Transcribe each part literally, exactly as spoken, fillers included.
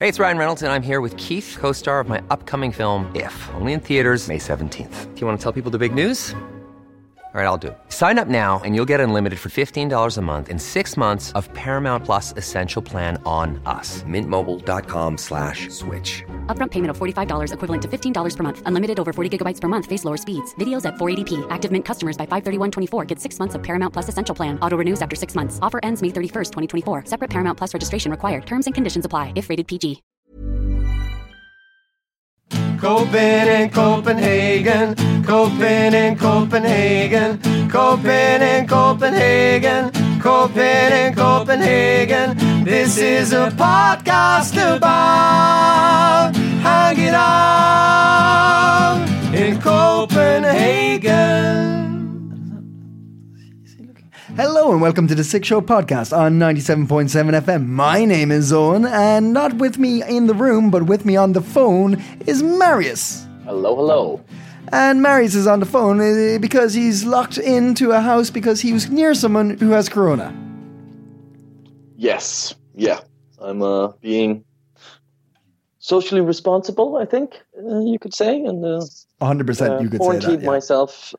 Hey, it's Ryan Reynolds, and I'm here with Keith, co-star of my upcoming film, If, only in theaters May seventeenth. Do you want to tell people the big news? All right, I'll do it. Sign up now and you'll get unlimited for fifteen dollars a month and six months of Paramount Plus Essential Plan on us. Mint Mobile dot com slash switch. Upfront payment of forty-five dollars equivalent to fifteen dollars per month. Unlimited over forty gigabytes per month. Face lower speeds. Videos at four eighty p. Active Mint customers by five thirty-one twenty-four get six months of Paramount Plus Essential Plan. Auto renews after six months. Offer ends May thirty-first, twenty twenty-four. Separate Paramount Plus registration required. Terms and conditions apply if rated P G. Copen in Copenhagen, Copen in Copenhagen, Copen in Copenhagen, Copen in Copenhagen. This is a podcast about hanging out in Copenhagen. Hello and welcome to the Sick Show podcast on ninety-seven point seven F M. My name is Owen, and not with me in the room, but with me on the phone is Marius. Hello, hello. And Marius is on the phone uh, because he's locked into a house because he was near someone who has corona. Yes, yeah. I'm uh, being socially responsible, I think uh, you could say. And uh, one hundred percent uh, you could say quarantined that, yeah. myself.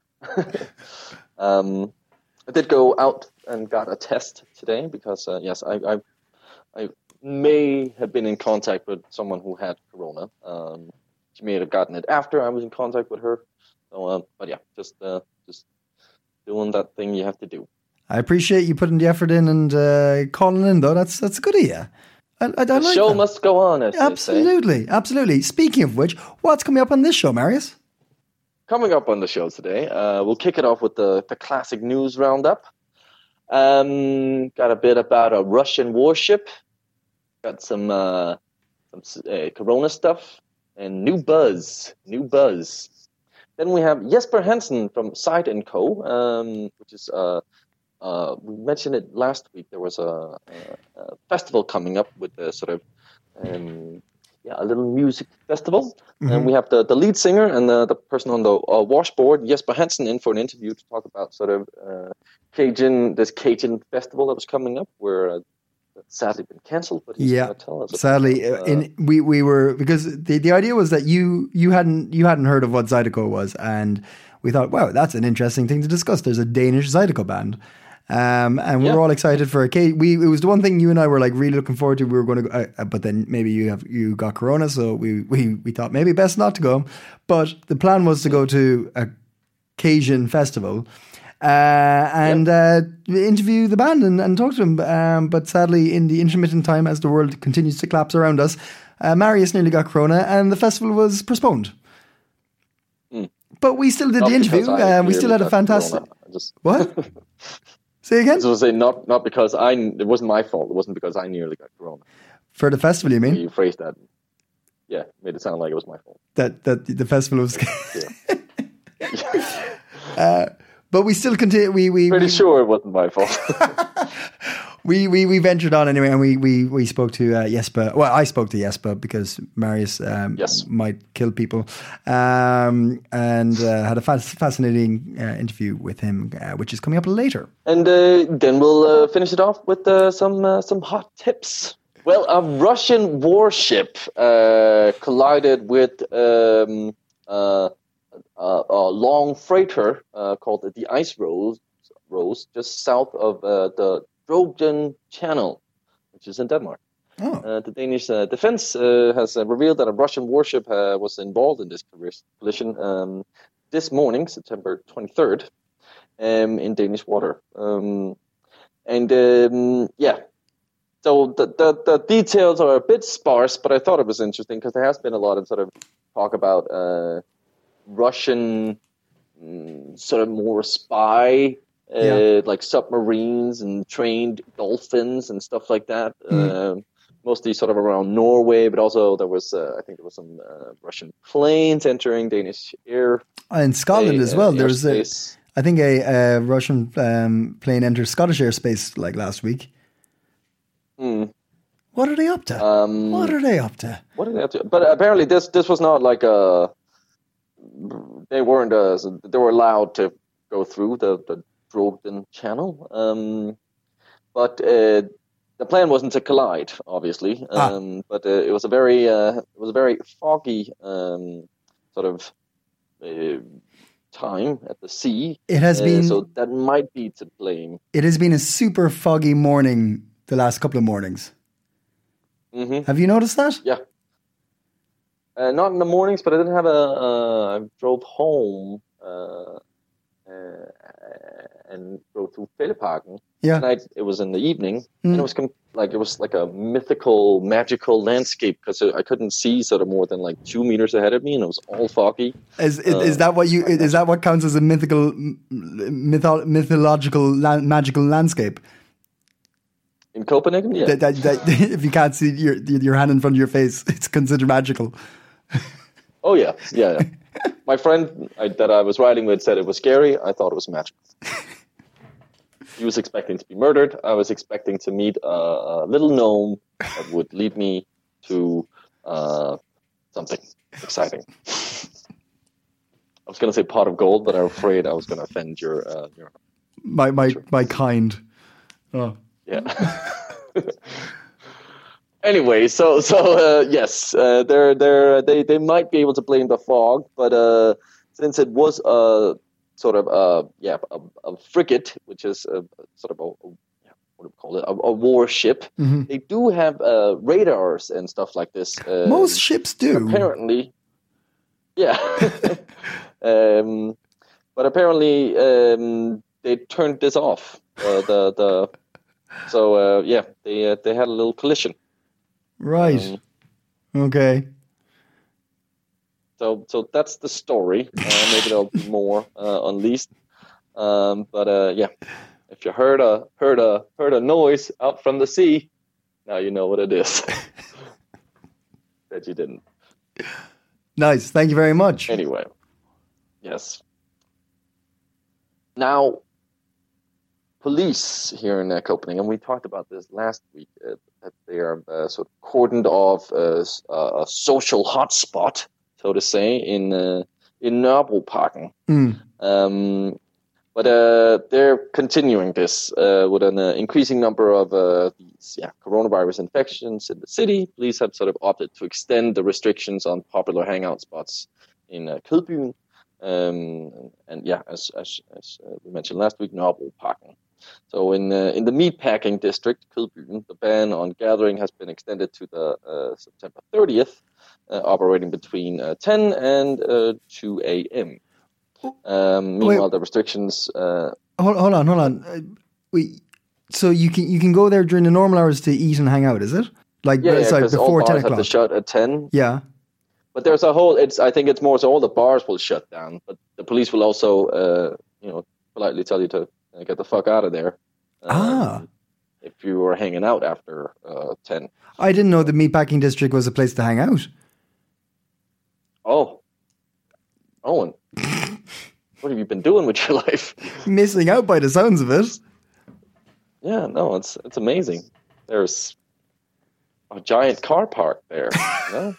um, I did go out and got a test today because, uh, yes, I, I I may have been in contact with someone who had corona. Um, she may have gotten it after I was in contact with her. So, uh, but yeah, just uh, just doing that thing you have to do. I appreciate you putting the effort in and uh, calling in, though. That's that's good of you. I, I, I the like show that. must go on, as Absolutely, they say. absolutely. Speaking of which, what's coming up on this show, Marius? Coming up on the show today, uh, we'll kick it off with the, the classic news roundup. Um, got a bit about a Russian warship. Got some uh, some uh, Corona stuff and new buzz, new buzz. Then we have Jesper Hansen from Side and Co, um, which is uh, uh, we mentioned it last week. There was a, a, a festival coming up with the sort of. Um, Yeah, a little music festival. Mm-hmm. And we have the, the lead singer and the, the person on the uh, washboard, Jesper Hansen, in for an interview to talk about sort of uh, Cajun, this Cajun festival that was coming up, where uh, it's sadly been cancelled. But he's yeah, going to tell us. Sadly, about, uh, in, we we were because the, the idea was that you you hadn't you hadn't heard of what Zydeco was, and we thought, wow, that's an interesting thing to discuss. There's a Danish Zydeco band. Um, and we yeah. were all excited for a case. We it was the one thing you and I were like really looking forward to. We were going to, go, uh, but then maybe you have you got corona, so we we we thought maybe best not to go. But the plan was to go to a Cajun festival uh, and uh, interview the band and, and talk to them. Um, but sadly, in the intermittent time, as the world continues to collapse around us, uh, Marius nearly got corona, and the festival was postponed. Mm. But we still did not the interview. Uh, we still had a fantastic. Just... What? Say again? I was say not not because I it wasn't my fault. It wasn't because I nearly got corona. For the festival, you mean? You phrased that. Yeah, made it sound like it was my fault. That that the festival was. uh, but we still continue. We we pretty we, sure it wasn't my fault. we we we ventured on anyway, and we we we spoke to uh, Jesper. Well, I spoke to Jesper because Marius um, yes. might kill people, um, and uh, had a fas- fascinating uh, interview with him, uh, which is coming up later. And uh, then we'll uh, finish it off with uh, some uh, some hot tips. Well, a Russian warship uh, collided with um, uh, a, a long freighter uh, called the Ice Rose, Rose just south of uh, the Drogden Channel, which is in Denmark. Oh. Uh, the Danish uh, defense uh, has uh, revealed that a Russian warship uh, was involved in this collision um, this morning, September twenty-third, um, in Danish water. Um, and um, yeah, so the, the the details are a bit sparse, but I thought it was interesting because there has been a lot of sort of talk about uh, Russian um, sort of more spy. Uh, yeah. Like submarines and trained dolphins and stuff like that. Mm. Uh, mostly sort of around Norway, but also there was, uh, I think there was some uh, Russian planes entering Danish air. In Scotland a, as well. Uh, there was, a, I think, a, a Russian um, plane entered Scottish airspace like last week. Mm. What are they up to? Um, what are they up to? What are they up to? But apparently, this this was not like a. They weren't. A, they were allowed to go through the. the Drogden Channel, um, but uh, the plan wasn't to collide, obviously, Ah. um, but uh, it was a very uh, it was a very foggy um, sort of uh, time at the sea. It has uh, been- so that might be to blame. It has been a super foggy morning the last couple of mornings. Hmm. Have you noticed that? Yeah. Uh, not in the mornings, but I didn't have a. Uh, I drove home uh, uh, and drove through Fælleparken. Yeah. And I, it was in the evening, and it was com- like it was like a mythical, magical landscape because I couldn't see sort of more than like two meters ahead of me, and it was all foggy. Is, is, is that what you? Is that what counts as a mythical, mytho- mythological, lan- magical landscape? In Copenhagen, yeah. That, that, that if you can't see your your hand in front of your face, it's considered magical. Oh yeah, yeah. yeah. My friend I, that I was riding with said it was scary. I thought it was magical. He was expecting to be murdered. I was expecting to meet a, a little gnome that would lead me to uh, something exciting. I was going to say pot of gold, but I'm afraid I was going to offend your uh, your. My my my kind. Oh. Yeah. Anyway, so so uh, yes, uh, they're they're they they might be able to blame the fog, but uh, since it was a sort of a yeah a, a frigate, which is a, sort of a, a yeah, what do we call it, a, a warship, Mm-hmm. they do have uh, radars and stuff like this. Um, Most ships do. apparently, yeah. um, but apparently, um, they turned this off. Uh, the the so uh, yeah, they uh, they had a little collision. Right. Um, Okay. So, so that's the story. Uh, maybe there'll be more uh, unleashed. Um, but uh, yeah, if you heard a heard a heard a noise out from the sea, now you know what it is. That you didn't. Nice. Thank you very much. Anyway, yes. Now, police here in uh, Copenhagen, and we talked about this last week, uh, that they are uh, sort of cordoned off as uh, a social hotspot, so to say, in uh, in Nørrebroparken. Mm. Um, but uh, they're continuing this uh, with an uh, increasing number of uh, these yeah, coronavirus infections in the city. Police have sort of opted to extend the restrictions on popular hangout spots in uh, Kødbyen. Um, and yeah, as, as, as uh, we mentioned last week, Nørrebroparken. So in uh, in the meatpacking district, Kødbyen, the ban on gathering has been extended to the uh, September thirtieth, uh, operating between uh, ten and uh, two a.m. Um, meanwhile, Wait. the restrictions. Uh, Hold, hold on, hold on. Uh, wait. So you can you can go there during the normal hours to eat and hang out, is it? Like yeah, yeah, sorry, because all before bars ten have to o'clock. shut at ten. Yeah. But there's a whole. It's. I think it's more so all the bars will shut down, but the police will also, uh, you know, politely tell you to uh, get the fuck out of there. Um, Ah. If you were hanging out after uh, ten. I didn't know the meatpacking district was a place to hang out. Oh, Owen, what have you been doing with your life? Missing out by the sounds of it. Yeah, no, it's it's amazing. There's a giant car park there. You know?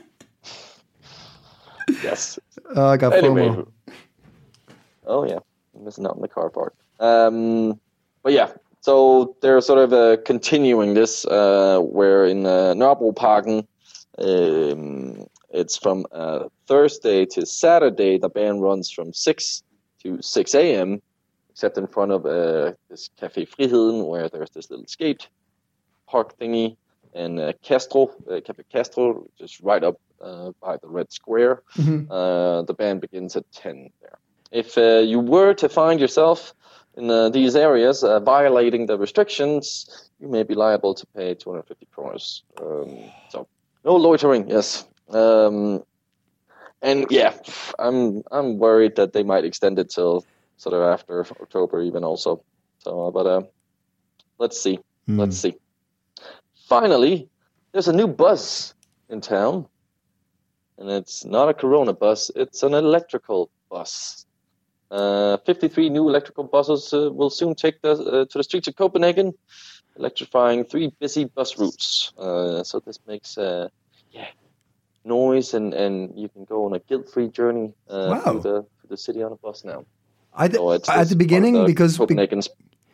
Yes. Oh, I got Anyway. FOMO. Oh yeah, I'm missing out on the car park. Um, but yeah, so they're sort of uh, continuing this, uh, where in uh, Nørrebroparken, um, it's from uh, Thursday to Saturday. The ban runs from six to six a.m. except in front of uh, this Café Friheden, where there's this little skate park thingy, and uh, Castro, uh, Café Castro, just right up uh, by the Red Square. Uh, the ban begins at ten there. If uh, you were to find yourself in uh, these areas uh, violating the restrictions, you may be liable to pay two hundred fifty kroners. Um, so, no loitering, yes. Um, and yeah, I'm I'm worried that they might extend it till sort of after October even also. So, uh, but uh, let's see, let's see. Finally, there's a new bus in town, and it's not a Corona bus; it's an electrical bus. Uh, fifty-three new electrical buses uh, will soon take the, uh, to the streets of Copenhagen, electrifying three busy bus routes. Uh, so this makes uh, yeah noise, and, and you can go on a guilt-free journey uh, Wow. through the through the city on a bus now. I th- So it's- at it's the part of beginning the because be- Copenhagen's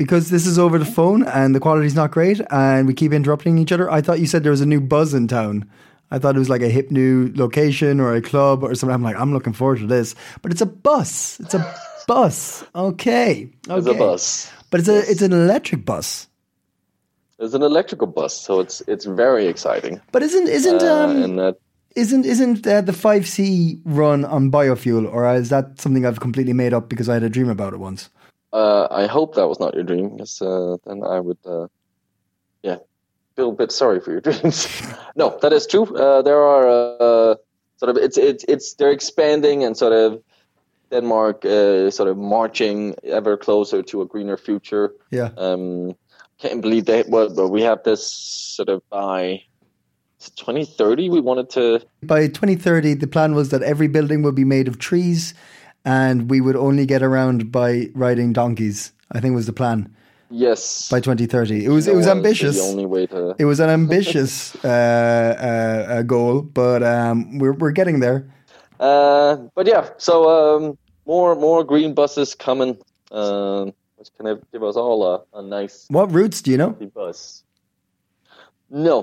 because this is over the phone and the quality's not great and we keep interrupting each other, I thought you said there was a new buzz in town. I thought it was like a hip new location or a club or something. I'm like, I'm looking forward to this. But it's a bus. It's a bus. Okay. okay. It's a bus. But it's a it's an electric bus. It's an electrical bus, so it's it's very exciting. But isn't isn't Uh, um and that, isn't isn't uh, the five C run on biofuel, or is that something I've completely made up because I had a dream about it once? uh, I hope that was not your dream, because uh, then I would, uh, yeah, feel a bit sorry for your dreams. No, that is true. Uh, there are uh, sort of it's it's it's they're expanding and sort of Denmark uh, sort of marching ever closer to a greener future. Yeah. Um, can't believe that. Well, but we have this sort of by twenty thirty. We wanted to. By twenty thirty, the plan was that every building would be made of trees, and we would only get around by riding donkeys. I think was the plan. Yes. By twenty thirty, it was No, it was honestly, ambitious. The only way to. It was an ambitious uh, uh, uh, goal, but um, we're we're getting there. Uh, but yeah, so um, more more green buses coming, um, which can have, give us all a, a nice What routes do you know? bus. No,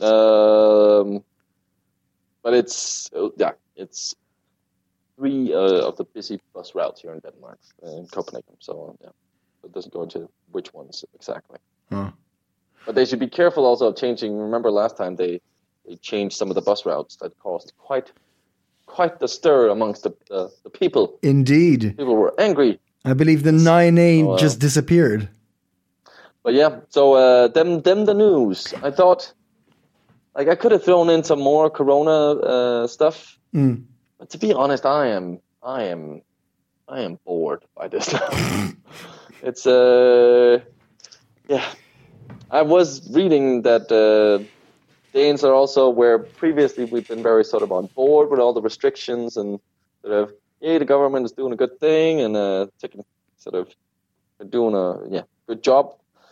um, but it's uh, yeah, it's three uh, of the busy bus routes here in Denmark, uh, in Copenhagen. So uh, yeah, it doesn't go into which ones exactly. Oh. But they should be careful also of changing. Remember last time they they changed some of the bus routes that caused quite. Quite the stir amongst the uh, the people. Indeed, People were angry. I believe the nine A Oh, wow. just disappeared. But yeah, so uh, them them the news. I thought, like, I could have thrown in some more Corona uh, stuff. Mm. But to be honest, I am I am I am bored by this now. It's uh yeah. I was reading that uh, Danes are also where previously we've been very sort of on board with all the restrictions and sort of, yeah, the government is doing a good thing and uh, taking sort of doing a yeah good job.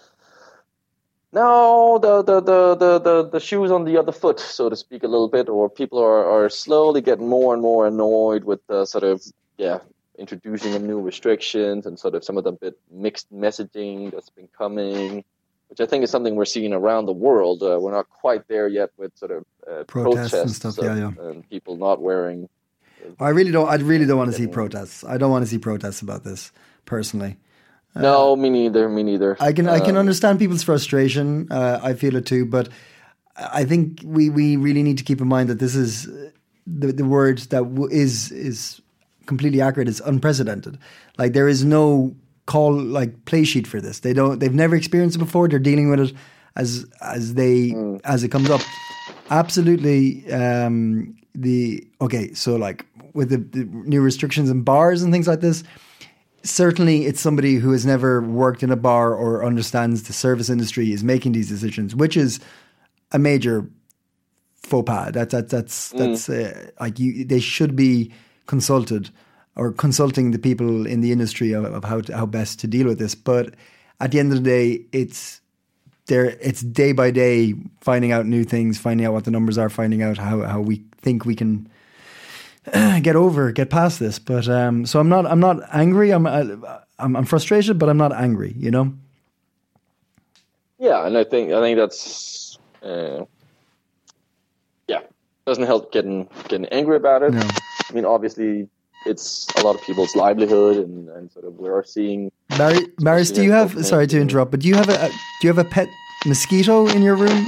Now the the, the, the, the the shoe's on the other foot, so to speak, a little bit, or people are, are slowly getting more and more annoyed with the sort of yeah introducing of new restrictions and sort of some of the bit mixed messaging that's been coming. Which I think is something we're seeing around the world. Uh, we're not quite there yet with sort of uh, Protests protests and stuff, of, yeah, yeah. and people not wearing. I really don't. I really don't want to see protests. I don't want to see protests about this personally. No, me neither. Me neither. I can I can Um, understand people's frustration. Uh, I feel it too, but I think we, we really need to keep in mind that this is the the word that w- is is completely accurate. It's unprecedented. Like there is no call like play sheet for this. They don't. They've never experienced it before. They're dealing with it as as they Mm. as it comes up. Absolutely. Um, the okay. So like with the, the new restrictions in bars and things like this. Certainly, it's somebody who has never worked in a bar or understands the service industry is making these decisions, which is a major faux pas. That, that, that's that's uh, like you. They should be consulted or consulting the people in the industry of, of how to, how best to deal with this. But at the end of the day, it's there. It's day by day finding out new things, finding out what the numbers are, finding out how, how we think we can get over, get past this. But um, so I'm not, I'm not angry. I'm, I'm, I'm frustrated, but I'm not angry. You know. Yeah, and I think I think that's uh, yeah doesn't help getting getting angry about it. No. I mean, obviously, it's a lot of people's livelihood, and, and sort of we are seeing. Barry, Maris, do you have? Sorry to interrupt, but do you have a, a do you have a pet mosquito in your room?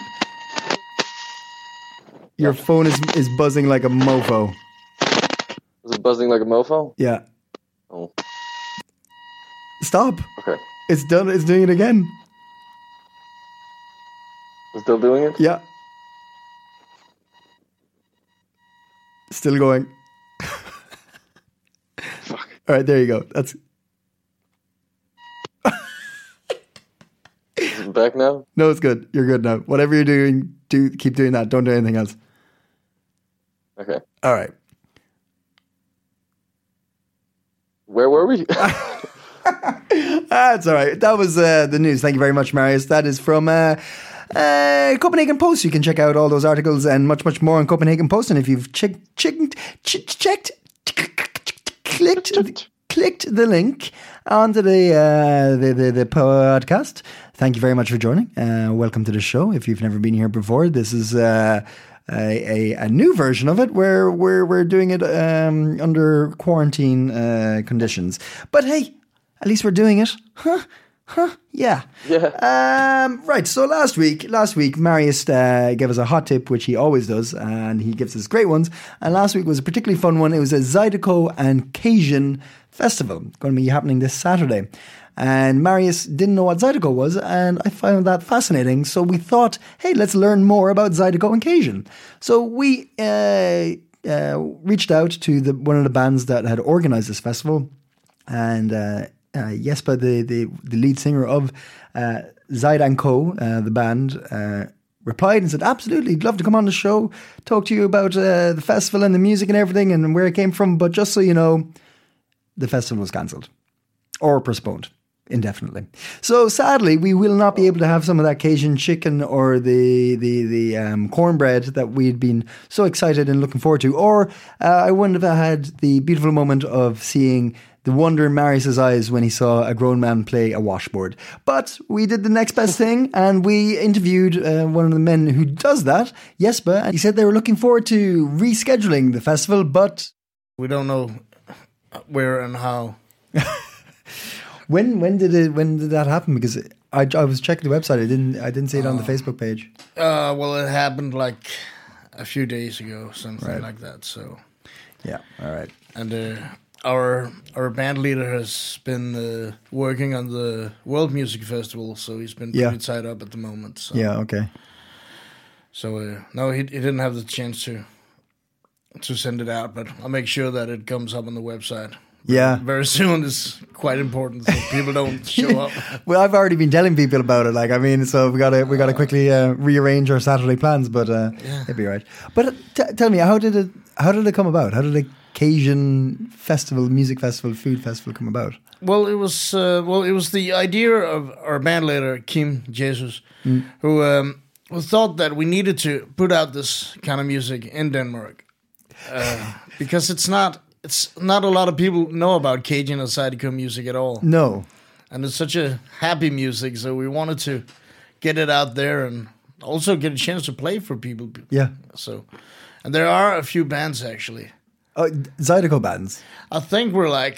Your phone is is buzzing like a mofo. Is it buzzing like a mofo? Yeah. Oh, Stop. okay. It's done. It's doing it again. It's still doing it? Yeah. Still going. Fuck. All right, there you go. That's Is it back now? no, it's good. You're good now. Whatever you're doing, do keep doing that. Don't do anything else. Okay. All right. Where were we? That's all right. That was uh, the news. Thank you very much, Marius. That is from uh, uh, Copenhagen Post. You can check out all those articles and much, much more on Copenhagen Post. And if you've checked, checked, ch- checked, clicked, clicked the link onto the, uh, the, the, the podcast. Thank you very much for joining. Uh, welcome to the show. If you've never been here before, this is uh, a, a, a new version of it where we're, we're doing it um, under quarantine uh, conditions. But hey, at least we're doing it. Huh? Huh? Yeah. Yeah. Um, right. So last week, last week, Marius uh, gave us a hot tip, which he always does, and he gives us great ones. And last week was a particularly fun one. It was a Zydeco and Cajun festival going to be happening this Saturday. And Marius didn't know what Zydeco was, and I found that fascinating. So we thought, hey, let's learn more about Zydeco and Cajun. So we uh, uh, reached out to the one of the bands that had organized this festival, and uh, Uh, Jesper, the, the, the lead singer of uh, Zyde and Co., uh, the band, uh, replied and said, absolutely, I'd love to come on the show, talk to you about uh, the festival and the music and everything and where it came from. But just so you know, the festival was cancelled or postponed indefinitely. So sadly, we will not be able to have some of that Cajun chicken or the the, the um, cornbread that we'd been so excited and looking forward to. Or uh, I wouldn't have had the beautiful moment of seeing the wonder in Marius's eyes when he saw a grown man play a washboard. But we did the next best thing, and we interviewed uh, one of the men who does that, Jesper, and he said they were looking forward to rescheduling the festival, but we don't know where and how. when when did it when did that happen? Because I, I was checking the website, I didn't I didn't see it on the Facebook page. Uh, well, it happened like a few days ago, something right. like that. So yeah, all right, and. Uh, Our our band leader has been uh, working on the World Music Festival, so he's been pretty yeah. tied up at the moment. So. Yeah, okay. So uh, no, he he didn't have the chance to to send it out, but I'll make sure that it comes up on the website. Yeah, very soon. It's quite important so people don't show up. Well, I've already been telling people about it. Like, I mean, so we gotta we gotta quickly uh, rearrange our Saturday plans, but uh, yeah. it'll be all right. But uh, t- tell me, how did it how did it come about? How did it Cajun festival, music festival, food festival come about? Well, it was uh, well, it was the idea of our band leader Kim Jesus, mm. who um, who thought that we needed to put out this kind of music in Denmark uh, because it's not it's not a lot of people know about Cajun or Zydeco music at all. No, and it's such a happy music, so we wanted to get it out there and also get a chance to play for people. Yeah. So, and there are a few bands actually. Oh, Zydeco bands. I think we're like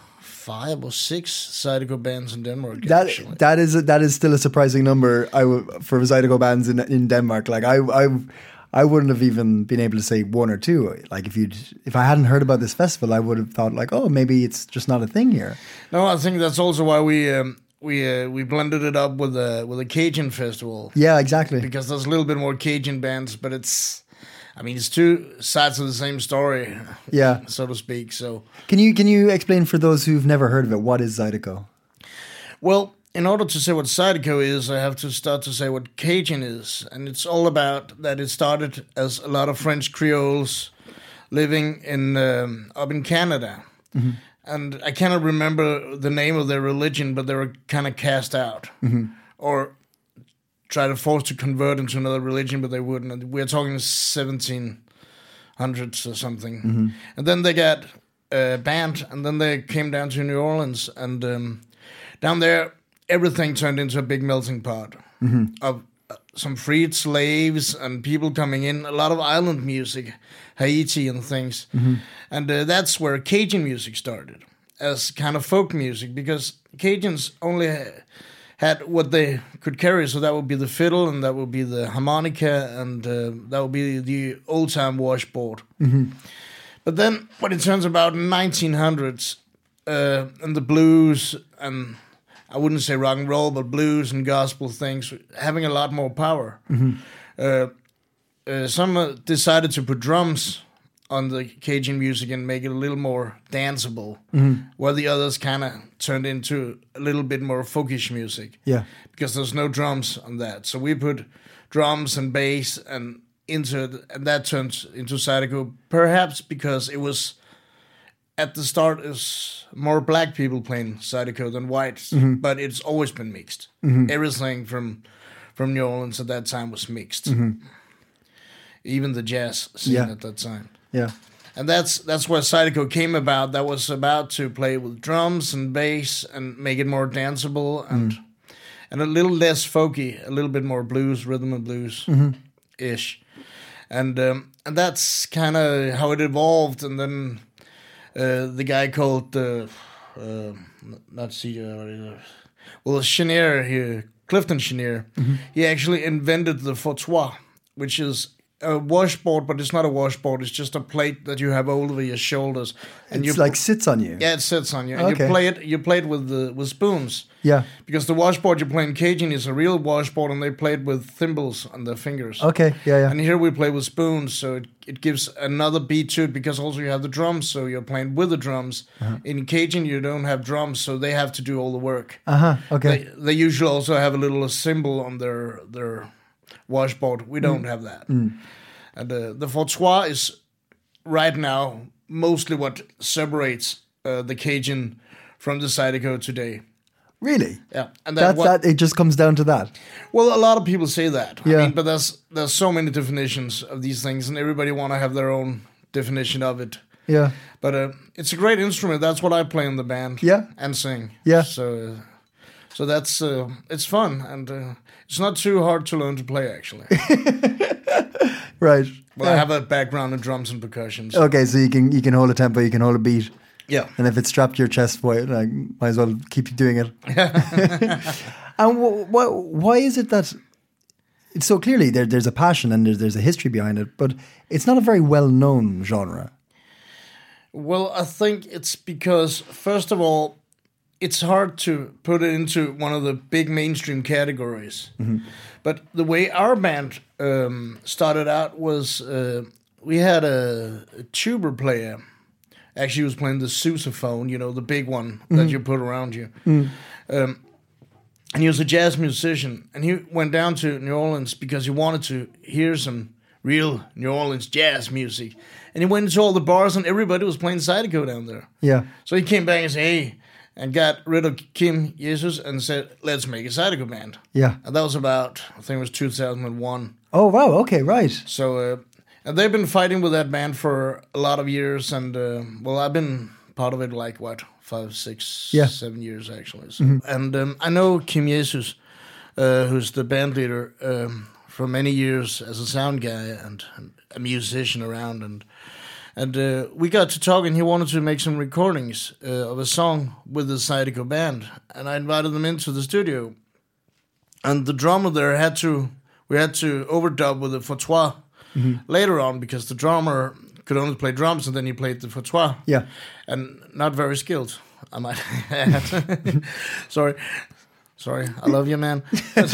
five or six Zydeco bands in Denmark. That actually. that is a, that is still a surprising number. I w- for Zydeco bands in in Denmark. Like I I I wouldn't have even been able to say one or two. Like if you if I hadn't heard about this festival, I would have thought like, oh, maybe it's just not a thing here. No, I think that's also why we um, we uh, we blended it up with a with a Cajun festival. Yeah, exactly. Because there's a little bit more Cajun bands, but it's. I mean, it's two sides of the same story, yeah, so to speak. So, can you can you explain for those who've never heard of it, what is Zydeco? Well, in order to say what Zydeco is, I have to start to say what Cajun is, and it's all about that. It started as a lot of French Creoles living in um, up in Canada, mm-hmm. and I cannot remember the name of their religion, but they were kind of cast out, mm-hmm. or. Try to force to convert into another religion, but they wouldn't. We're talking seventeen hundreds or something. Mm-hmm. And then they got uh, banned, and then they came down to New Orleans, and um, down there, everything turned into a big melting pot mm-hmm. of uh, some freed slaves and people coming in, a lot of island music, Haiti and things. Mm-hmm. And uh, that's where Cajun music started, as kind of folk music, because Cajuns only... Ha- had what they could carry, so that would be the fiddle, and that would be the harmonica, and uh, that would be the old-time washboard. Mm-hmm. But then, when it turns about nineteen hundreds, uh, and the blues, and I wouldn't say rock and roll, but blues and gospel things, having a lot more power, mm-hmm. uh, uh, some uh, decided to put drums on the Cajun music and make it a little more danceable, mm-hmm. while the others kind of turned into a little bit more folkish music. Yeah, because there's no drums on that, so we put drums and bass and into it, and that turned into Zydeco. Perhaps because it was at the start is more black people playing Zydeco than whites, mm-hmm. but it's always been mixed. Mm-hmm. Everything from from New Orleans at that time was mixed. Mm-hmm. Even the jazz scene yeah. at that time. Yeah. And that's that's where Zydeco came about. That was about to play with drums and bass and make it more danceable and mm. and a little less folky, a little bit more blues, rhythm and blues ish. Mm-hmm. And um, and that's kind of how it evolved. And then uh, the guy called uh, uh, not C uh, well Chenier here, Clifton Chenier, mm-hmm. he actually invented the fauteuil, which is a washboard, but it's not a washboard. It's just a plate that you have over your shoulders, and it's you like sits on you. Yeah, it sits on you, and okay. you play it. You play it with the with spoons. Yeah, because the washboard you play in Cajun is a real washboard, and they play it with thimbles on their fingers. Okay, yeah, yeah. And here we play with spoons, so it, it gives another beat to it. Because also you have the drums, so you're playing with the drums. Uh-huh. In Cajun you don't have drums, so they have to do all the work. Uh huh. Okay. They, they usually also have a little symbol on their their washboard. We don't mm. have that. Mm. And uh, the fauteuil is right now mostly what separates uh, the Cajun from the Zydeco today. Really? Yeah, and that, what, that it just comes down to that. Well, a lot of people say that. Yeah. I mean, but there's there's so many definitions of these things, and everybody want to have their own definition of it. Yeah. But uh, it's a great instrument. That's what I play in the band. Yeah. And sing. Yeah. So, uh, so that's uh, it's fun, and uh, it's not too hard to learn to play actually. Right. Well, yeah. I have a background in drums and percussion. So. Okay, so you can you can hold a tempo, you can hold a beat. Yeah. And if it's strapped to your chest, boy, like, might as well keep you doing it. And wh- wh- why is it that it's so clearly there, there's a passion and there's, there's a history behind it, but it's not a very well-known genre? Well, I think it's because, first of all, it's hard to put it into one of the big mainstream categories. Mm-hmm. But the way our band um, started out was uh, we had a, a tuba player. Actually, he was playing the sousaphone, you know, the big one mm-hmm. that you put around you. Mm. Um, and he was a jazz musician. And he went down to New Orleans because he wanted to hear some real New Orleans jazz music. And he went into all the bars and everybody was playing Zydeco down there. Yeah. So he came back and said, hey, and got rid of Kim Jesus and said, let's make a Zydeco band. Yeah. And that was about, I think it was two thousand one. Oh, wow. Okay, right. So, uh, and they've been fighting with that band for a lot of years. And, uh, well, I've been part of it like, what, five, six, yeah. seven years, actually. So, mm-hmm. And um, I know Kim Jesus, uh, who's the band leader um, for many years as a sound guy and, and a musician around. And And uh, we got to talk, and he wanted to make some recordings uh, of a song with the Zydeco band. And I invited them into the studio. And the drummer there had to, we had to overdub with the fauteuil mm-hmm. later on, because the drummer could only play drums, and then he played the fauteuil. Yeah. And not very skilled, I might add. Sorry. Sorry, I love you, man.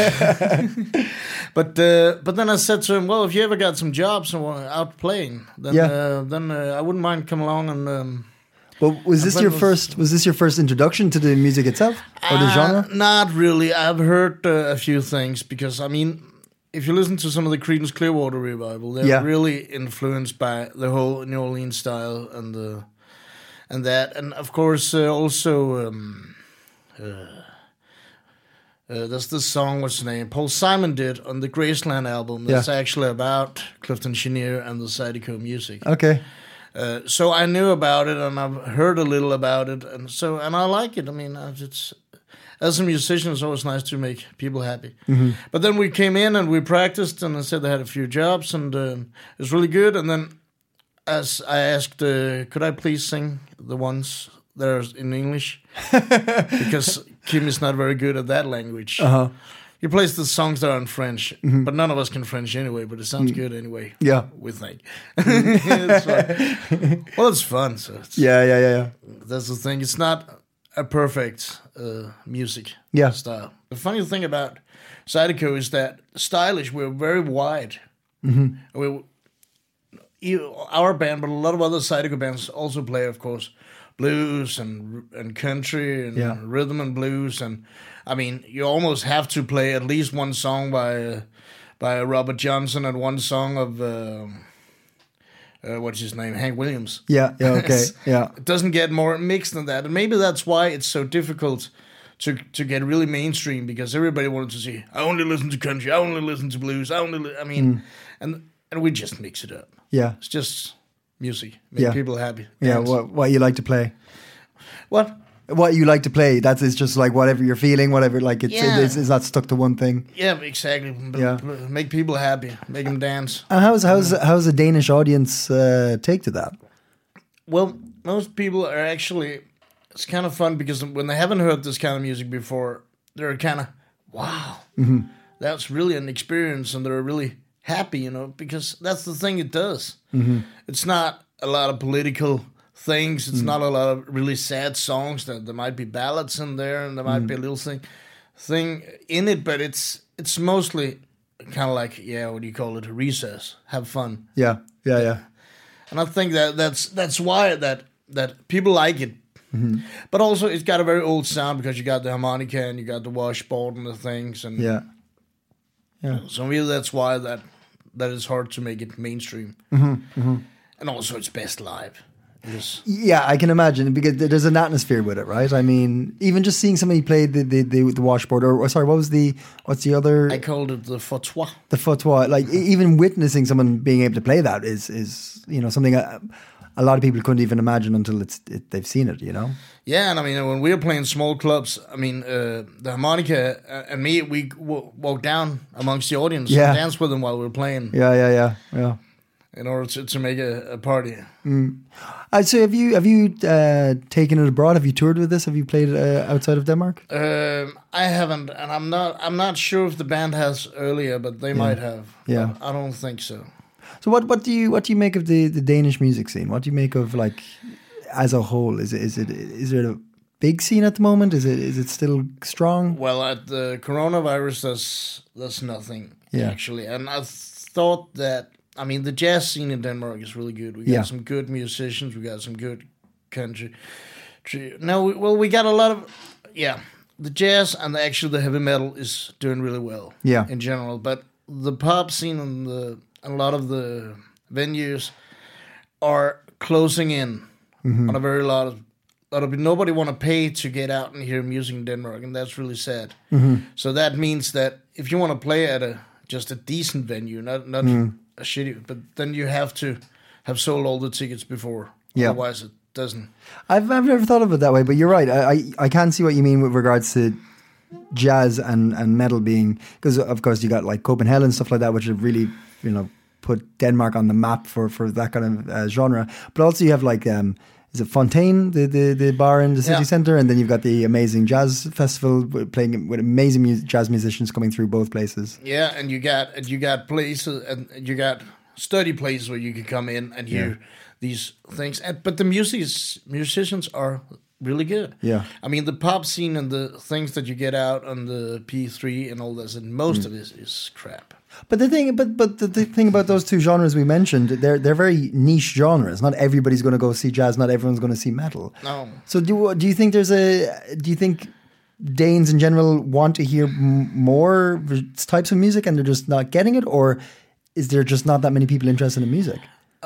but uh, but then I said to him, well, if you ever got some jobs out playing, then yeah. uh, then uh, I wouldn't mind coming along and. Um, well, was this your was, first? Was this your first introduction to the music itself or the uh, genre? Not really. I've heard uh, a few things, because I mean, if you listen to some of the Creedence Clearwater Revival, they're yeah. really influenced by the whole New Orleans style and the and that, and of course uh, also. Um, uh, Uh, there's this song, what's the name? Paul Simon did on the Graceland album. That's yeah. actually about Clifton Chenier and the Zydeco music. Okay. Uh, so I knew about it, and I've heard a little about it, and so and I like it. I mean, it's as a musician, it's always nice to make people happy. Mm-hmm. But then we came in and we practiced, and I said they had a few jobs, and uh, it was really good. And then, as I asked, uh, could I please sing the ones that are in English? Because Kim is not very good at that language. Uh-huh. He plays the songs that are in French, mm-hmm. but none of us can French anyway, but it sounds mm-hmm. good anyway. Yeah. We think. It's fun. Well, it's fun. So it's, yeah, yeah, yeah, yeah. That's the thing. It's not a perfect uh, music yeah. style. The funny thing about Zydeco is that stylish, we're very wide. Mm-hmm. We, our band, but a lot of other Zydeco bands also play, of course, blues and and country and yeah. rhythm and blues, and I mean, you almost have to play at least one song by uh, by Robert Johnson and one song of uh, uh, what's his name, Hank Williams. Yeah, yeah, okay, yeah. It doesn't get more mixed than that, and maybe that's why it's so difficult to to get really mainstream, because everybody wanted to see, I only listen to country, I only listen to blues, I only, li-. I mean, mm. and and we just mix it up. Yeah, it's just. music, make Yeah. people happy. Yeah, dance. what what you like to play? What? What you like to play? That's it's just like whatever you're feeling, whatever. Like it's Yeah. it's, it's not stuck to one thing. Yeah, exactly. B- Yeah. b- Make people happy, make them dance. And how's how's how's the Danish audience uh, take to that? Well, most people are actually. It's kind of fun because when they haven't heard this kind of music before, they're kind of wow. Mm-hmm. That's really an experience, and they're really happy, you know, because that's the thing it does. Mm-hmm. It's not a lot of political things. It's Mm. not a lot of really sad songs. That there might be ballads in there, and there might Mm. be a little thing, thing in it, but it's it's mostly kind of like yeah, what do you call it? Recess, have fun, Yeah, yeah, yeah. and I think that that's that's why that that people like it. Mm-hmm. But also, it's got a very old sound because you got the harmonica and you got the washboard and the things, and Yeah. Yeah. so maybe that's why that that is hard to make it mainstream. Mm-hmm. And also, it's best live. Because Yeah, I can imagine because there- there's an atmosphere with it, right? I mean, even just seeing somebody play the the, the, the washboard, or, or sorry, what was the what's the other I called it the fauteuil. the fauteuil? Like e- even witnessing someone being able to play that is is you know something a, a lot of people couldn't even imagine until it's it, they've seen it. You know? Yeah, and I mean, when we were playing small clubs, I mean, uh, the harmonica uh, and me, we w- walked down amongst the audience Yeah. and danced with them while we were playing Yeah, yeah, yeah, yeah. in order to, to make a, a party. Uh, so have you have you uh, taken it abroad? Have you toured with this? Have you played uh, outside of Denmark? Um, I haven't, and I'm not. I'm not sure if the band has earlier, but they might have. Yeah. But I don't think so. So what what do you what do you make of the, the Danish music scene? What do you make of like as a whole? Is it is it is it a big scene at the moment? Is it is it still strong? Well, at the coronavirus, there's there's nothing Yeah. actually, and I thought that. I mean, the jazz scene in Denmark is really good. We got Yeah. some good musicians. We got some good country. tr- No, we- well, we got a lot of yeah. The jazz and the, actually the heavy metal is doing really well. Yeah. in general, but the pop scene and the and a lot of the venues are closing in Mm-hmm. on a very lot of. lot of nobody want to pay to get out and hear music in Denmark, and that's really sad. Mm-hmm. So that means that if you want to play at a just a decent venue, not not Mm. a shitty, but then you have to have sold all the tickets before. Yeah. Otherwise, it doesn't. I've I've never thought of it that way, but you're right. I I, I can see what you mean with regards to jazz and, and metal being because of course you got like Copenhagen and stuff like that, which have really you know put Denmark on the map for, for that kind of uh, genre. But also you have like um, is it Fontaine, the, the the bar in the city Yeah. centre, and then you've got the amazing jazz festival with- playing with amazing mu- jazz musicians coming through both places. Yeah, and you got and you got places and you got study places where you can come in and hear Yeah. these things. And but the music is, musicians are really good. Yeah. I mean the pop scene and the things that you get out on the P three and all this, and most of it is crap. But the thing, but but the, the thing about those two genres we mentioned, they're they're very niche genres. Not everybody's going to go see jazz. Not everyone's going to see metal. No. So do do you think there's a do you think Danes in general want to hear m- more types of music and they're just not getting it, or is there just not that many people interested in music?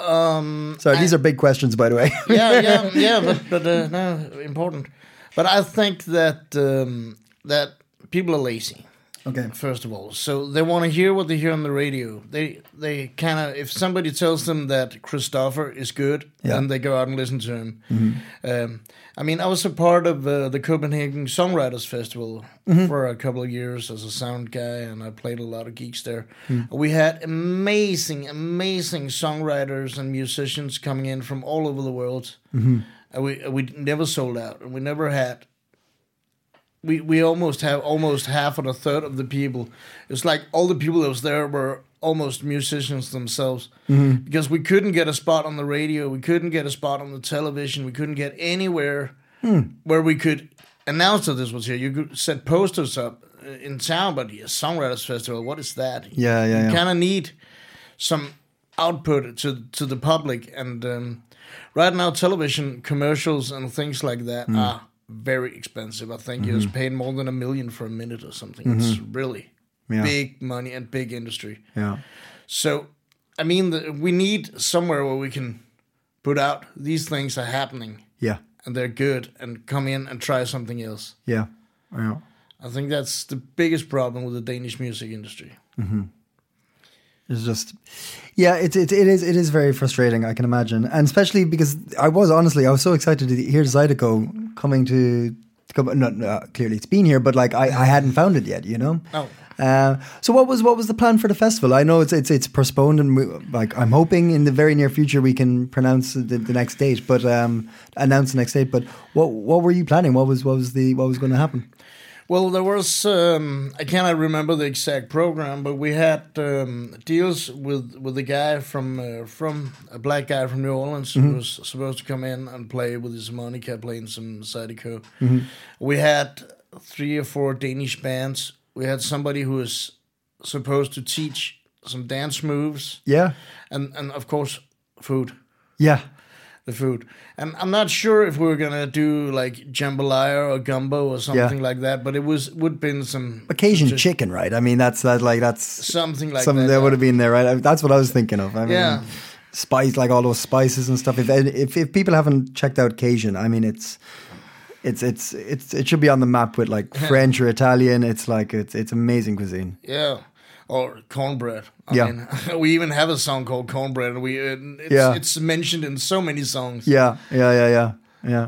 Um, Sorry, these are big questions, by the way. yeah, yeah, yeah, but but uh, no, important. But I think that um, that people are lazy. Okay. First of all, so they want to hear what they hear on the radio. They they kind of, if somebody tells them that Christopher is good, Yeah. then they go out and listen to him. Um, I mean, I was a part of uh, the Copenhagen Songwriters Festival for a couple of years as a sound guy, and I played a lot of gigs there. We had amazing, amazing songwriters and musicians coming in from all over the world, and we we never sold out, and we never had. We we almost have almost half or a third of the people. It's like all the people that was there were almost musicians themselves, because we couldn't get a spot on the radio, we couldn't get a spot on the television, we couldn't get anywhere where we could announce that this was here. You could set posters up in town, but yeah, Songwriters Festival, what is that? Yeah, yeah, You yeah. kind of need some output to to the public, and um, right now television commercials and things like that are very expensive. I think you're paying more than a million for a minute or something. It's really Yeah. big money and big industry. Yeah. So, I mean, the, we need somewhere where we can put out these things are happening Yeah. and they're good, and come in and try something else. Yeah. Yeah. I think that's the biggest problem with the Danish music industry. It's just, yeah, it, it it is it is very frustrating. I can imagine, and especially because I was honestly I was so excited to hear Zydeco coming to, to come. No, no, clearly it's been here, but like I, I hadn't found it yet, you know. Oh. Uh, so what was what was the plan for the festival? I know it's it's it's postponed, and we, like I'm hoping in the very near future we can pronounce the, the next date, but um, announce the next date. But what what were you planning? What was what was the what was going to happen? Well, there was, um, I cannot remember the exact program, but we had um, deals with, with a guy from, uh, from a black guy from New Orleans mm-hmm. who was supposed to come in and play with his harmonica, playing some Zydeco. Mm-hmm. We had three or four Danish bands. We had somebody who was supposed to teach some dance moves. Yeah. And, and of course, food. Yeah. The food. And I'm not sure if we were gonna do like jambalaya or gumbo or something yeah. like that, but it was would been some Cajun some, chicken, right? I mean, that's that like that's something like something that. that would have been there, right? That's what I was thinking of. I mean, yeah, spice like all those spices and stuff. If if if people haven't checked out Cajun, I mean, it's it's it's it's it should be on the map with like French or Italian. It's like it's it's amazing cuisine. Yeah. Or cornbread. I yeah. mean, we even have a song called Cornbread, and we it's, yeah. it's mentioned in so many songs. Yeah, yeah, yeah, yeah, yeah.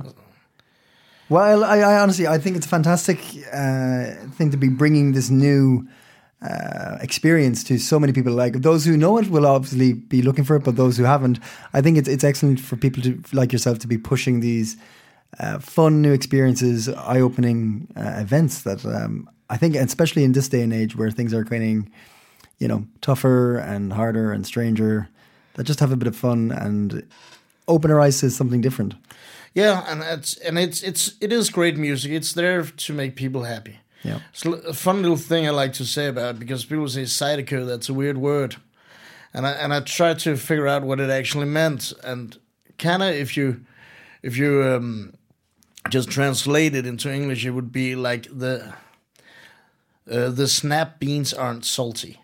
Well, I, I honestly, I think it's a fantastic uh, thing to be bringing this new uh, experience to so many people. Like those who know it will obviously be looking for it, but those who haven't, I think it's it's excellent for people to like yourself to be pushing these uh, fun new experiences, eye-opening uh, events that. Um, I think, especially in this day and age where things are getting, you know, tougher and harder and stranger, that just have a bit of fun and open our eyes to something different. Yeah, and it's and it's it's it is great music. It's there to make people happy. Yeah, it's a fun little thing I like to say about it because people say Zydeco, that's a weird word, and I and I tried to figure out what it actually meant. And kind of if you if you um, just translate it into English, it would be like the. Uh, the snap beans aren't salty.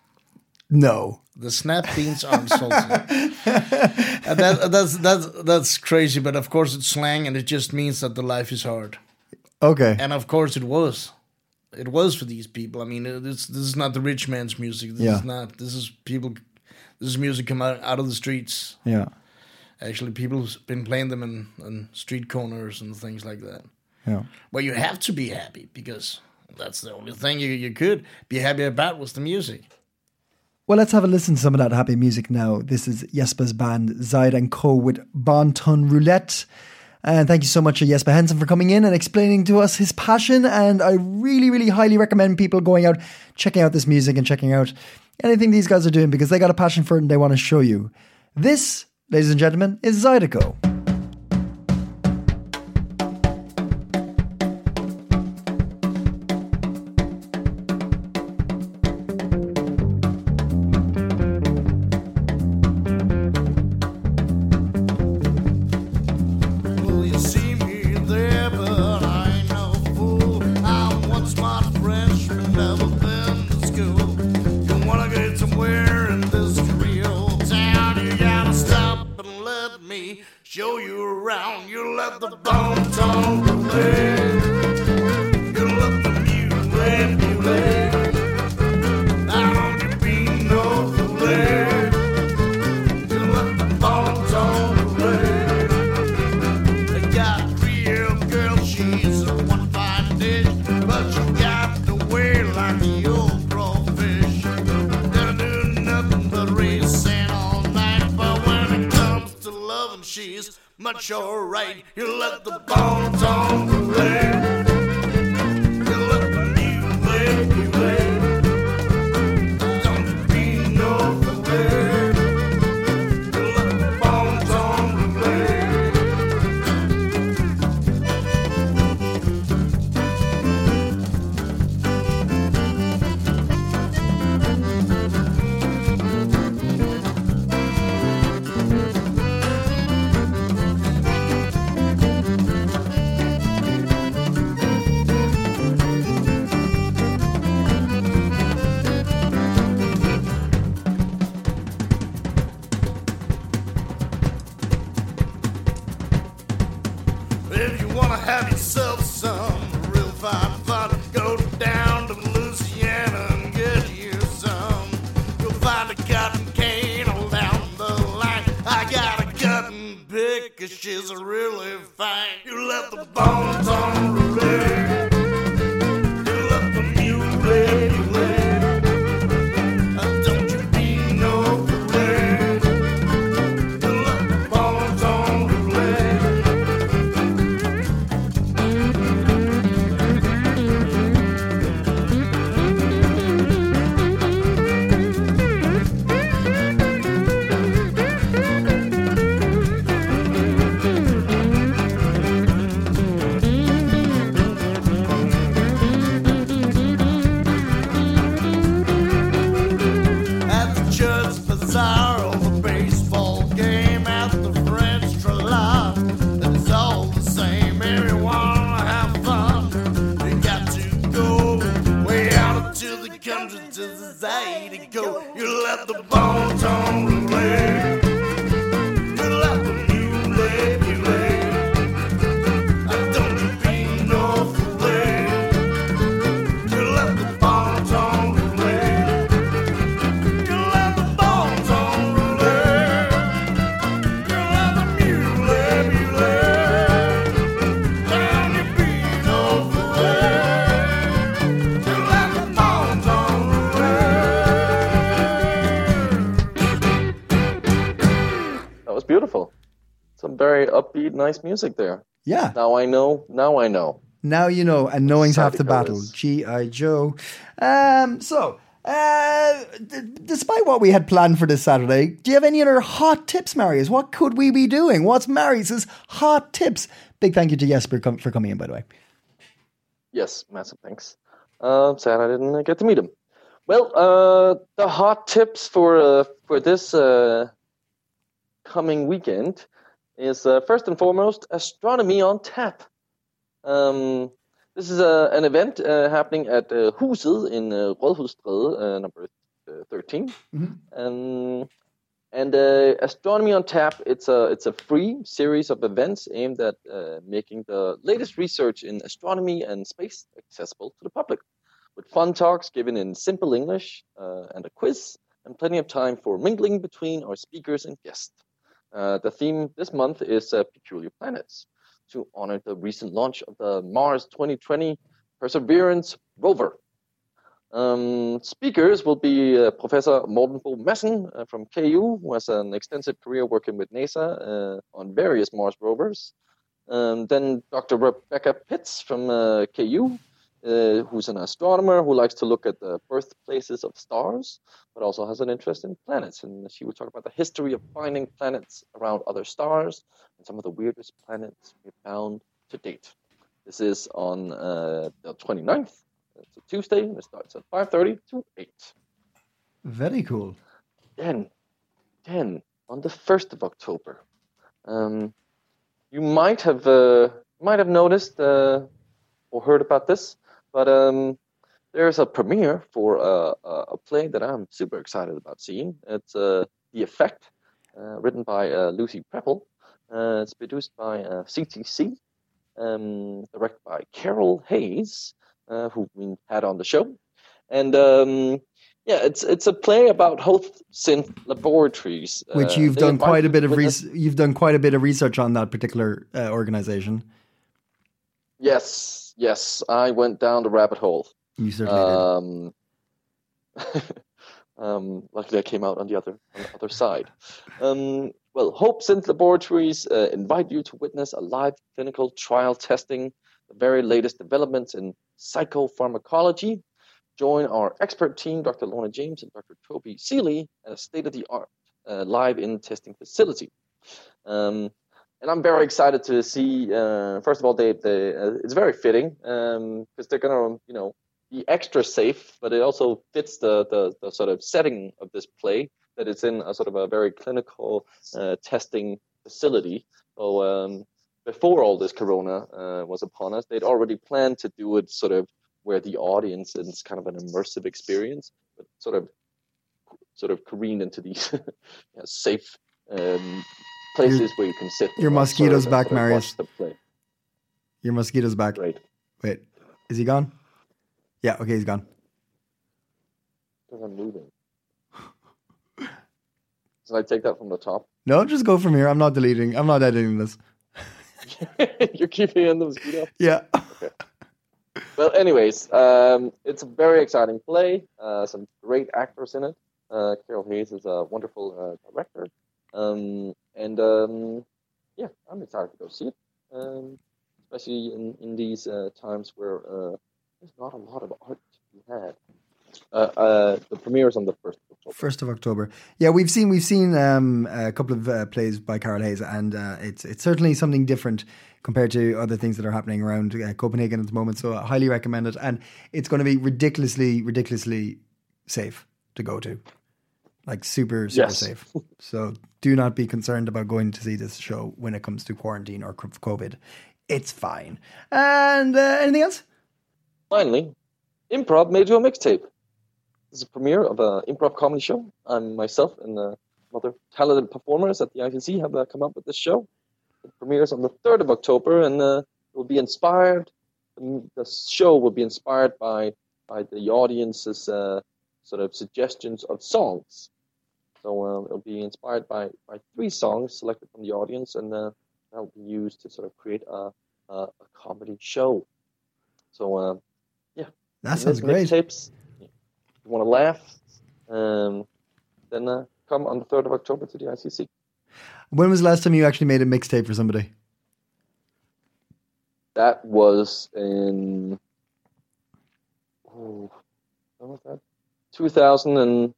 No, the snap beans aren't salty. And that, that's that's that's crazy, but of course it's slang, and it just means that the life is hard. Okay. And of course it was, it was for these people. I mean, this this is not the rich man's music. This yeah. is not. This is people. This is music come out, out of the streets. Yeah. Actually, people's been playing them in, in street corners and things like that. Yeah. Well, you have to be happy because. That's the only thing you, you could be happy about was the music. Well, let's have a listen to some of that happy music now. This is Jesper's band, Zyde and Co. with Bon Ton Roulette. And thank you so much to Jesper Henson for coming in and explaining to us his passion. And I really, really highly recommend people going out, checking out this music and checking out anything these guys are doing because they got a passion for it and they want to show you. This, ladies and gentlemen, is Zydeco. Show you around, you let the Bon Ton Roulette. You let the music mulette. I don't get beat no roulette. You let the Bon Ton Roulette. They got a real girl, she's a one fine dish, but you got to wear like the old crawfish. Gonna do nothing but raise sand all night, but when it comes to loving, she's much alright. You let the Bon Ton Roulette. You let the music mulette. Don't be no roulette. You let the Bon Ton Roulette. If you wanna have yourself some real fine fun, go down to Louisiana and get you some. You'll find a got a cutting pick, 'cause she's really fine. You let the bones on roulette. You let the mule play, play. Uh, don't you be no fool. You let the bones on roulette. At the church bazaar or the baseball game, at the French trellis, it's all the same. Everyone have fun. You got to go way out into the country to the side to go. You let the bones on roulette. You let the mule play. Uh, don't you be no fool. You let the bones on roulette. You let the bones on roulette. You let the mule mule. Don't you be no fool. You let the bones on roulette. That was beautiful. Some very upbeat, nice music there. Yeah. Now I know. Now I know. Now you know, and knowing's half the Sadiko battle. is- G I. Joe. Um, so, uh, d- despite what we had planned for this Saturday, do you have any other hot tips, Marius? What could we be doing? What's Marius's hot tips? Big thank you to Jesper com- for coming in, by the way. Yes, massive thanks. Uh, sad I didn't uh, get to meet him. Well, uh, the hot tips for uh, for this uh, coming weekend is uh, first and foremost Astronomy on Tap. Um, this is uh, an event uh, happening at uh, Huset in uh, Rådhusstræde, uh, number uh, thirteen. Um, and uh, Astronomy on Tap, it's a it's a free series of events aimed at uh, making the latest research in astronomy and space accessible to the public, with fun talks given in simple English uh, and a quiz, and plenty of time for mingling between our speakers and guests. Uh, the theme this month is uh, Peculiar Planets, to honor the recent launch of the Mars twenty twenty Perseverance rover. Um, speakers will be uh, Professor Morten Bo Madsen uh, from K U, who has an extensive career working with NASA uh, on various Mars rovers. Um, then Doctor Rebecca Pitts from uh, K U, uh, who's an astronomer who likes to look at the birthplaces of stars, but also has an interest in planets. And she will talk about the history of finding planets around other stars and some of the weirdest planets we've found to date. This is on uh, the twenty-ninth. It's a Tuesday, and it starts at five thirty to eight. Very cool. Then, then on the first of October, um, you might have uh, might have noticed uh, or heard about this, but um, there's a premiere for a, a, a play that I'm super excited about seeing. It's uh, The Effect, uh, written by uh, Lucy Preppel. Uh, it's produced by uh, C T C, um, directed by Carol Hayes, uh, who we had on the show, and um, yeah, it's it's a play about Hope Synth Laboratories, Which uh, you've they done quite a invited bit of witness- res- you've done quite a bit of research on that particular uh, organization. Yes, yes, I went down the rabbit hole. You certainly did. Um, um, luckily, I came out on the other on the other side. Um, well, Hope Synth Laboratories uh, invite you to witness a live clinical trial testing the very latest developments in psychopharmacology. Join our expert team, Doctor Lorna James and Doctor Toby Seeley, at a state-of-the-art uh, live-in testing facility. Um, and I'm very excited to see. Uh, first of all, they, they uh, it's very fitting because um, they're gonna, you know, be extra safe, but it also fits the, the the sort of setting of this play, that it's in a sort of a very clinical uh, testing facility. So um, before all this corona uh, was upon us, they'd already planned to do it sort of where the audience is kind of an immersive experience, but sort of sort of careened into these you know, safe um, places Your- where you can sit. your and mosquito's observe and back, sort of Marius. watch the play. Your mosquito's back. Great. Wait, is he gone? Yeah, okay, he's gone. Because I'm moving. Should I take that from the top? No, just go from here. I'm not deleting. I'm not editing this. You're keeping in the mosquito. Yeah. Well, anyways, um, it's a very exciting play. Uh, some great actors in it. Uh, Carol Hayes is a wonderful uh, director. Um, and um, yeah, I'm excited to go see it. Um, especially in, in these uh, times where uh, there's not a lot of art to be had. Uh, uh, the premiere is on the first of October. First of October. Yeah, we've seen we've seen um, a couple of uh, plays by Carol Hayes, and uh, it's it's certainly something different compared to other things that are happening around uh, Copenhagen at the moment. So I highly recommend it, and it's going to be ridiculously, ridiculously safe to go to, like super, super Yes. safe. So do not be concerned about going to see this show when it comes to quarantine or COVID. It's fine. And uh, anything else? Finally, Improv made you a mixtape. This is a premiere of an improv comedy show. I'm myself and uh, other talented performers at the I T C have uh, come up with this show. It premieres on the third of October, and uh, it will be inspired. The show will be inspired by by the audience's uh, sort of suggestions of songs. So uh, it'll be inspired by, by three songs selected from the audience, and uh, that'll be used to sort of create a a, a comedy show. So uh, yeah, That sounds great. Tapes. You want to laugh? Um, then uh, come on the third of October to the I C C. When was the last time you actually made a mixtape for somebody? That was in oh, when was that? two thousand and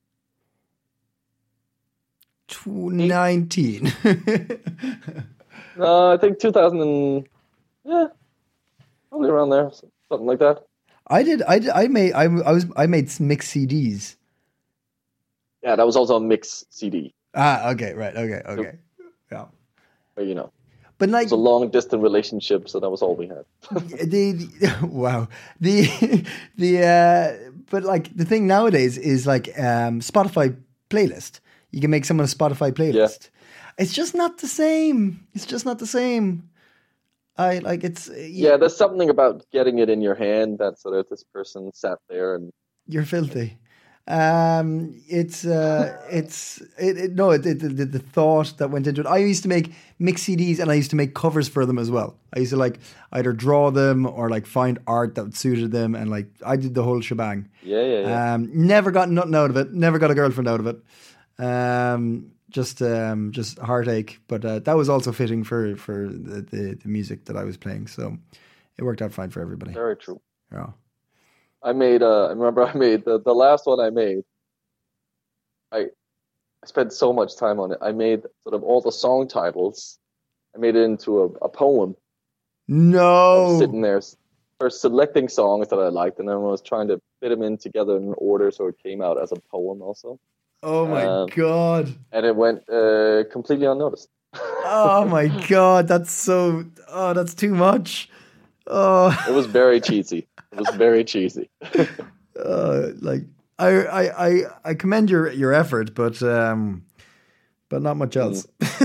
nineteen. no, I think two thousand and yeah, probably around there, something like that. I did. I did, I made. I, I was. I made mixed C Ds. Yeah, that was also a mix C D. Ah. Okay. Right. Okay. Okay. Yeah. But you know, But it like was a long distance relationship, so that was all we had. the, the wow the the uh, but like the thing nowadays is like um, Spotify playlist. You can make someone a Spotify playlist. It's just not the same. It's just not the same. I like it's Yeah, there's something about getting it in your hand that sort of this person sat there and You're filthy. Um, it's uh, it's it, it, no, it, it, the, the thought that went into it. I used to make mix C Ds and I used to make covers for them as well. I used to like either draw them or like find art that suited them, and like I did the whole shebang. yeah, yeah, yeah. Um, never got nothing out of it. Never got a girlfriend out of it. Um, just um, just heartache. But uh, that was also fitting for for the, the the music that I was playing. So it worked out fine for everybody. Very true. Yeah. I made. Uh, I remember I made the, the last one I made. I I spent so much time on it. I made sort of all the song titles. I made it into a, a poem. I was No. sitting there, first selecting songs that I liked, and then I was trying to fit them in together in order so it came out as a poem also. Oh my Um, god. And it went uh, completely unnoticed. Oh my god. That's so. Oh, that's too much. Oh, It was very cheesy. It was very cheesy. uh, like I, I, I, I commend your your effort, but um, but not much else.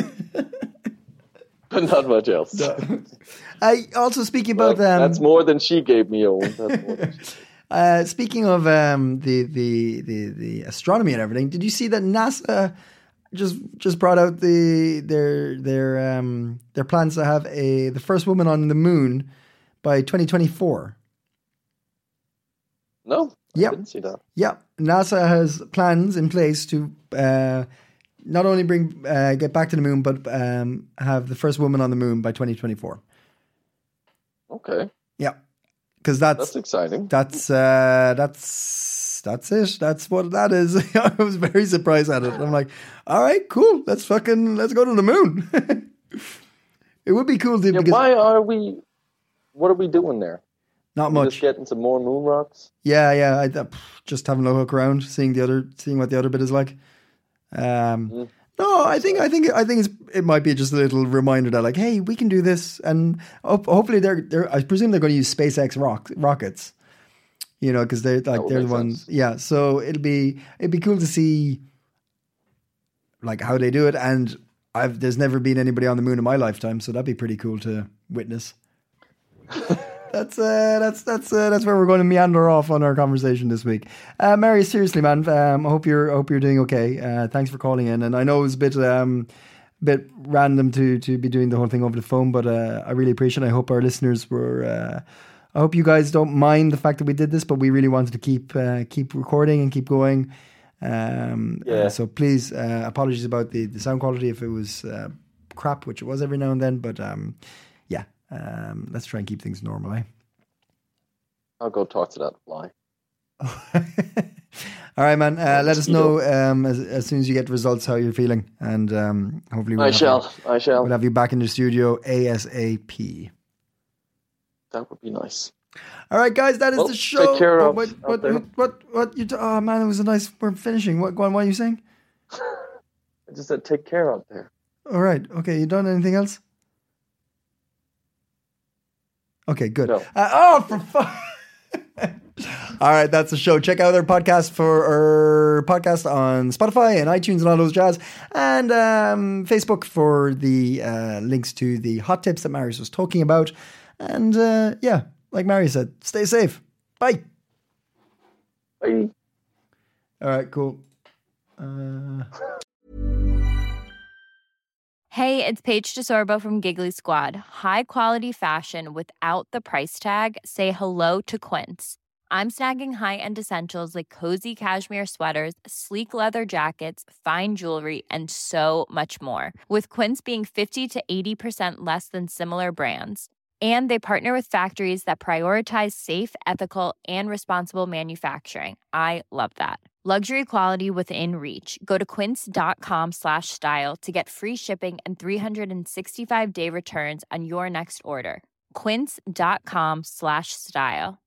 But not much else. I also speaking Well, about um, that's more than she gave me, Owen. That's more than she- Uh, speaking of um, the, the the the astronomy and everything, did you see that NASA just just brought out the their their um, their plans to have a the first woman on the moon by twenty twenty-four? No, Yep. I didn't see that. Yeah, NASA has plans in place to uh, not only bring uh, get back to the moon, but um, have the first woman on the moon by twenty twenty-four. Okay, Yeah, because that's that's exciting. That's uh, that's that's it. That's what that is. I was very surprised at it. I'm like, all right, cool. Let's fucking let's go to the moon. It would be cool to Yeah, because why are we? What are we doing there? not We're much. Just getting some more moon rocks. Yeah, yeah. I, uh, just having a look around, seeing the other, seeing what the other bit is like. Um, Mm. No, I think I think I think it's it might be just a little reminder that like, hey, we can do this, and ho- hopefully they're they're. I presume they're going to use SpaceX rock, rockets, you know, because they're like would they're the make ones. sense. Yeah, so it'll be it'd be cool to see like how they do it, and I've there's never been anybody on the moon in my lifetime, so that'd be pretty cool to witness. That's uh, that's that's uh, that's where we're going to meander off on our conversation this week. Uh, Mary, seriously, man, um, I hope you're I hope you're doing okay. Uh, thanks for calling in, and I know it was a bit um, bit random to to be doing the whole thing over the phone, but uh, I really appreciate it. I hope our listeners were. Uh, I hope you guys don't mind the fact that we did this, but we really wanted to keep uh, keep recording and keep going. Um, Yeah. uh, so please, uh, apologies about the, the sound quality if it was uh, crap, which it was every now and then. But um, yeah, um, let's try and keep things normal, eh? I'll go talk to that fly. All right, man. Uh, let us know um, as, as soon as you get results how you're feeling, and um, hopefully we'll I have shall. You, I shall. we'll have you back in the studio ASAP. That would be nice. All right, guys, that is Well, the show. take care what, of what, out what, there. what, what, what you? T- oh man, it was a nice. We're finishing. What? Go on. What are you saying? I just said take care out there. All right. Okay. You done anything else? Okay. Good. No. Uh, oh, for fun. All right, that's the show. Check out our podcast for our podcast on Spotify and iTunes and all those jazz, and um, Facebook for the uh, links to the hot tips that Marius was talking about. And uh, yeah, like Marius said, stay safe. Bye. Bye. All right, cool. Uh... Hey, it's Paige DeSorbo from Giggly Squad. High quality fashion without the price tag. Say hello to Quince. I'm snagging high-end essentials like cozy cashmere sweaters, sleek leather jackets, fine jewelry, and so much more. With Quince being fifty to eighty percent less than similar brands. And they partner with factories that prioritize safe, ethical, and responsible manufacturing. I love that. Luxury quality within reach. Go to quince.com slash style to get free shipping and three sixty-five day returns on your next order. Quince.com slash style.